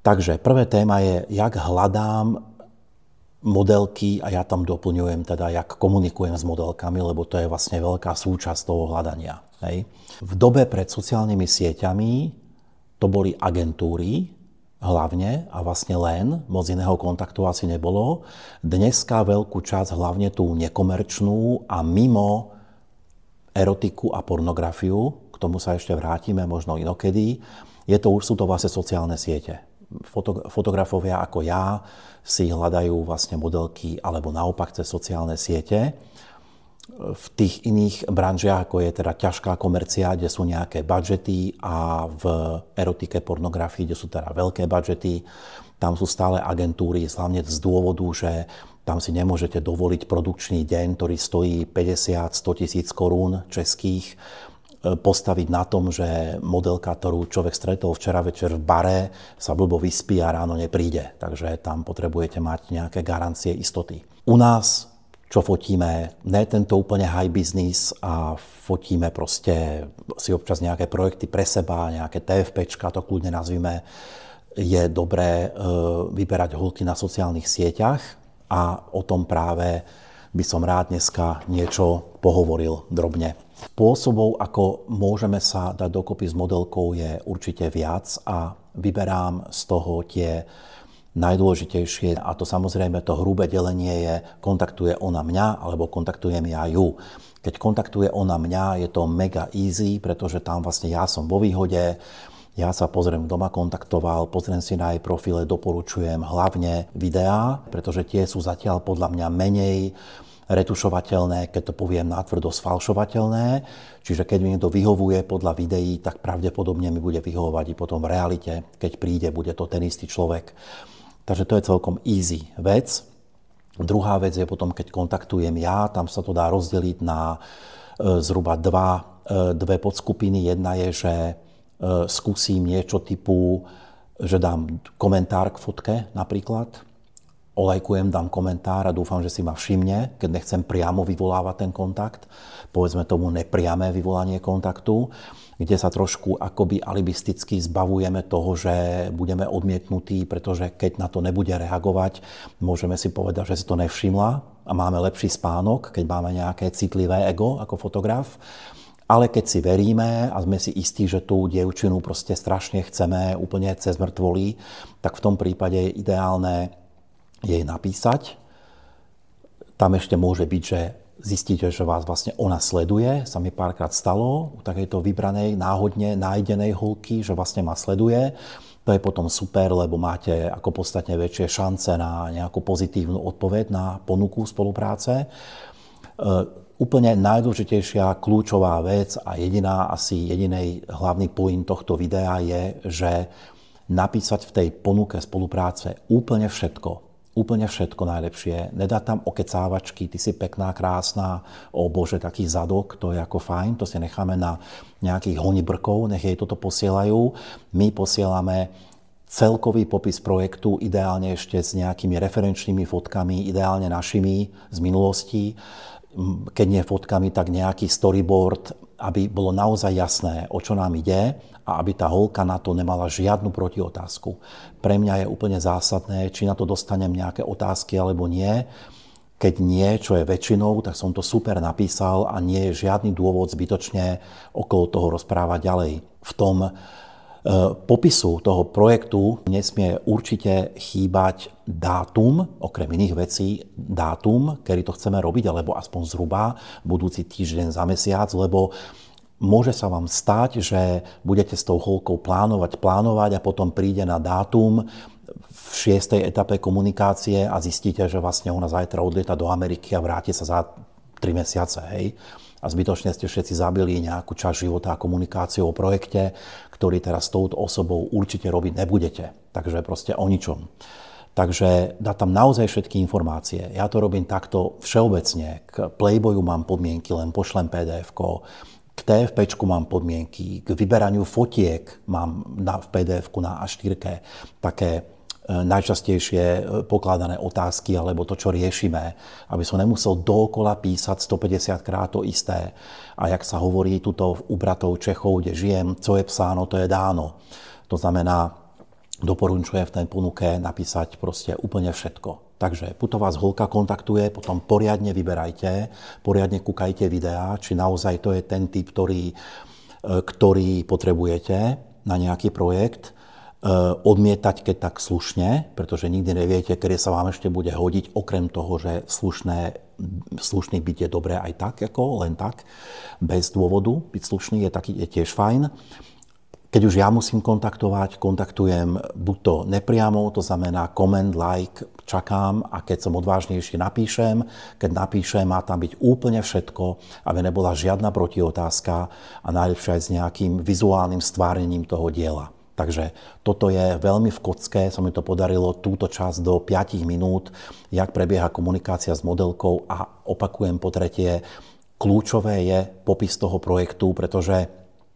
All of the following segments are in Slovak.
Takže prvé téma je, jak hľadám modelky a ja tam doplňujem teda, jak komunikujem s modelkami, lebo to je vlastne veľká súčasť toho hľadania. Hej. V dobe pred sociálnymi sieťami to boli agentúry hlavne a vlastne len, moc iného kontaktu asi nebolo. Dneska veľkú časť, hlavne tú nekomerčnú a mimo erotiku a pornografiu, k tomu sa ešte vrátime možno inokedy, sú to vlastne sociálne siete. Fotografovia ako ja si hľadajú vlastne modelky alebo naopak cez sociálne siete. V tých iných branžiach, ako je teda ťažká komercia, kde sú nejaké budžety a v erotike, pornografii, kde sú teda veľké budžety, tam sú stále agentúry, hlavne z dôvodu, že tam si nemôžete dovoliť produkčný deň, ktorý stojí 50-100 tisíc korún českých, postaviť na tom, že modelka, ktorú človek stretol včera večer v bare, sa blbo vyspí a ráno nepríde. Takže tam potrebujete mať nejaké garancie istoty. U nás, čo fotíme, ne tento úplne high business a fotíme proste si občas nejaké projekty pre seba, nejaké TFPčka, to kľudne nazvime, je dobré vyberať holky na sociálnych sieťach a o tom práve by som rád dneska niečo pohovoril drobne. Spôsobov, ako môžeme sa dať dokopy s modelkou, je určite viac a vyberám z toho tie najdôležitejšie. A to samozrejme to hrubé delenie je, kontaktuje ona mňa alebo kontaktujem ja ju. Keď kontaktuje ona mňa, je to mega easy, pretože tam vlastne ja som vo výhode, ja sa pozriem, kto ma kontaktoval, pozriem si na jej profile, doporučujem hlavne videá, pretože tie sú zatiaľ podľa mňa menej retušovateľné, keď to poviem natvrdo, sfalšovateľné. Čiže keď mi niekto vyhovuje podľa videí, tak pravdepodobne mi bude vyhovovať i potom v realite. Keď príde, bude to ten istý človek. Takže to je celkom easy vec. Druhá vec je potom, keď kontaktujem ja, tam sa to dá rozdeliť na zhruba dve podskupiny. Jedna je, že skúsim niečo typu, že dám komentár k fotke napríklad, olajkujem, dám komentár a dúfam, že si ma všimne, keď nechcem priamo vyvolávať ten kontakt, povedzme tomu nepriame vyvolanie kontaktu, kde sa trošku akoby alibisticky zbavujeme toho, že budeme odmietnutí, pretože keď na to nebude reagovať, môžeme si povedať, že si to nevšimla a máme lepší spánok, keď máme nejaké citlivé ego ako fotograf. Ale keď si veríme a sme si istí, že tú dievčinu proste strašne chceme úplne cez mŕtvoly, tak v tom prípade je ideálne jej napísať. Tam ešte môže byť, že zistíte, že vás vlastne ona sleduje. Sa mi párkrát stalo u takejto vybranej, náhodne nájdenej holky, že vlastne ma sleduje. To je potom super, lebo máte ako podstatne väčšie šance na nejakú pozitívnu odpoveď na ponuku spolupráce. Úplne najdôležitejšia kľúčová vec a jedinej hlavný point tohto videa je, že napísať v tej ponuke spolupráce úplne všetko. Úplne všetko najlepšie. Nedá tam okecávačky, ty si pekná, krásna, o bože, taký zadok, to je ako fajn, to si necháme na nejakých honibrkov, nech jej toto posielajú. My posielame celkový popis projektu, ideálne ešte s nejakými referenčnými fotkami, ideálne našimi z minulosti. Keď nie fotkami, tak nejaký storyboard, aby bolo naozaj jasné, o čo nám ide a aby tá holka na to nemala žiadnu protiotázku. Pre mňa je úplne zásadné, či na to dostanem nejaké otázky alebo nie. Keď nie, čo je väčšinou, tak som to super napísal a nie je žiadny dôvod zbytočne okolo toho rozprávať ďalej. V tom popisu toho projektu nesmie určite chýbať dátum, okrem iných vecí, dátum, kedy to chceme robiť, alebo aspoň zhruba budúci týždeň za mesiac, lebo môže sa vám stať, že budete s tou holkou plánovať a potom príde na dátum v 6. etape komunikácie a zistíte, že vlastne ona zajtra odlieta do Ameriky a vráti sa za 3 mesiace, hej. A zbytočne ste všetci zabili nejakú časť života a komunikáciu o projekte, ktorý teraz s touto osobou určite robiť nebudete. Takže proste o ničom. Takže dá tam naozaj všetky informácie. Ja to robím takto všeobecne. K Playboyu mám podmienky, len pošlem PDF-ko. K TFPčku mám podmienky. K vyberaniu fotiek mám v PDF-ku na A4 také najčastejšie pokladané otázky alebo to, čo riešime, aby som nemusel dookola písať 150 krát to isté. A jak sa hovorí tuto u bratov Čechov, kde žijem, co je psáno, to je dáno. To znamená, doporučujem v tej ponuke napísať proste úplne všetko. Takže buď to vás holka kontaktuje, potom poriadne vyberajte, poriadne kúkajte videá, či naozaj to je ten typ, ktorý potrebujete na nejaký projekt. Odmietať, keď tak slušne, pretože nikdy neviete, kedy sa vám ešte bude hodiť, okrem toho, že slušný byť je dobré aj tak, ako len tak, bez dôvodu. Byť slušný je tiež fajn. Keď už ja musím kontaktujem buď to nepriamo, to znamená comment, like, čakám a keď som odvážnejší napíšem. Keď napíšem, má tam byť úplne všetko, aby nebola žiadna protiotázka a najlepšie aj s nejakým vizuálnym stvárnením toho diela. Takže toto je veľmi v kocke, sa mi to podarilo túto časť do 5 minút, jak prebieha komunikácia s modelkou a opakujem po tretie, kľúčové je popis toho projektu, pretože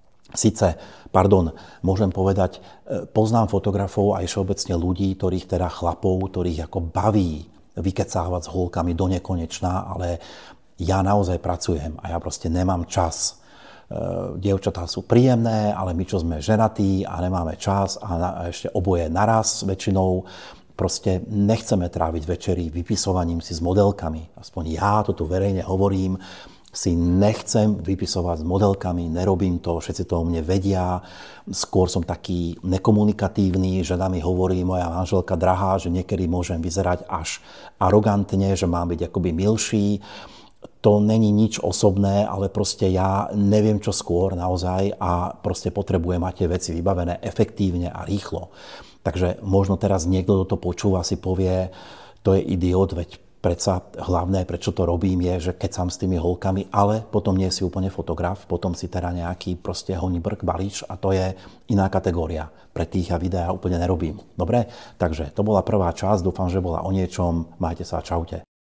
môžem povedať, poznám fotografov aj všeobecne ľudí, chlapov, ktorých ako baví vykecávať s holkami do nekonečná, ale ja naozaj pracujem a ja proste nemám čas. Dievčatá sú príjemné, ale my, čo sme ženatí a nemáme čas a ešte oboje naraz väčšinou, proste nechceme tráviť večery vypisovaním si s modelkami. Aspoň ja to tu verejne hovorím, si nechcem vypisovať s modelkami, nerobím to, všetci to o mne vedia. Skôr som taký nekomunikatívny, žena mi hovorí, moja manželka drahá, že niekedy môžem vyzerať až arogantne, že mám byť akoby milší. To není nič osobné, ale proste ja neviem čo skôr naozaj a proste potrebujem mať tie veci vybavené efektívne a rýchlo. Takže možno teraz niekto, kto to počúva, si povie, to je idiot, veď predsa hlavné, prečo to robím, je, že keď sám s tými holkami, ale potom nie si úplne fotograf, potom si teda nejaký proste honibrk balíč a to je iná kategória. Pre tých ja videá úplne nerobím. Dobre? Takže to bola prvá časť, dúfam, že bola o niečom. Majte sa, čaute.